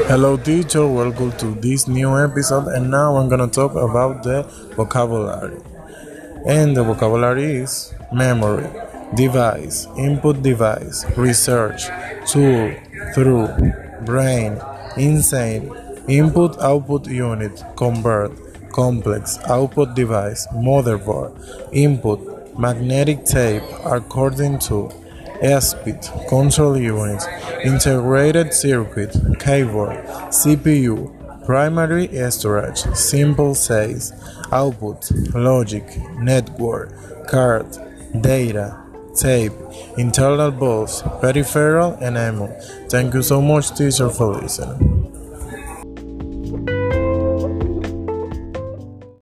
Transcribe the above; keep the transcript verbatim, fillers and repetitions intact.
Hello teacher, welcome to this new episode and now I'm gonna talk about the vocabulary. And the vocabulary is memory, device, input device, research, tool, through, brain, insane, input output unit, convert, complex, output device, motherboard, input, magnetic tape, according to, speed, control unit, integrated circuit, keyboard, C P U, primary storage, simple says, output, logic, network, card, data, tape, internal bus, peripheral, and ammo. Thank you so much, teacher, for listening.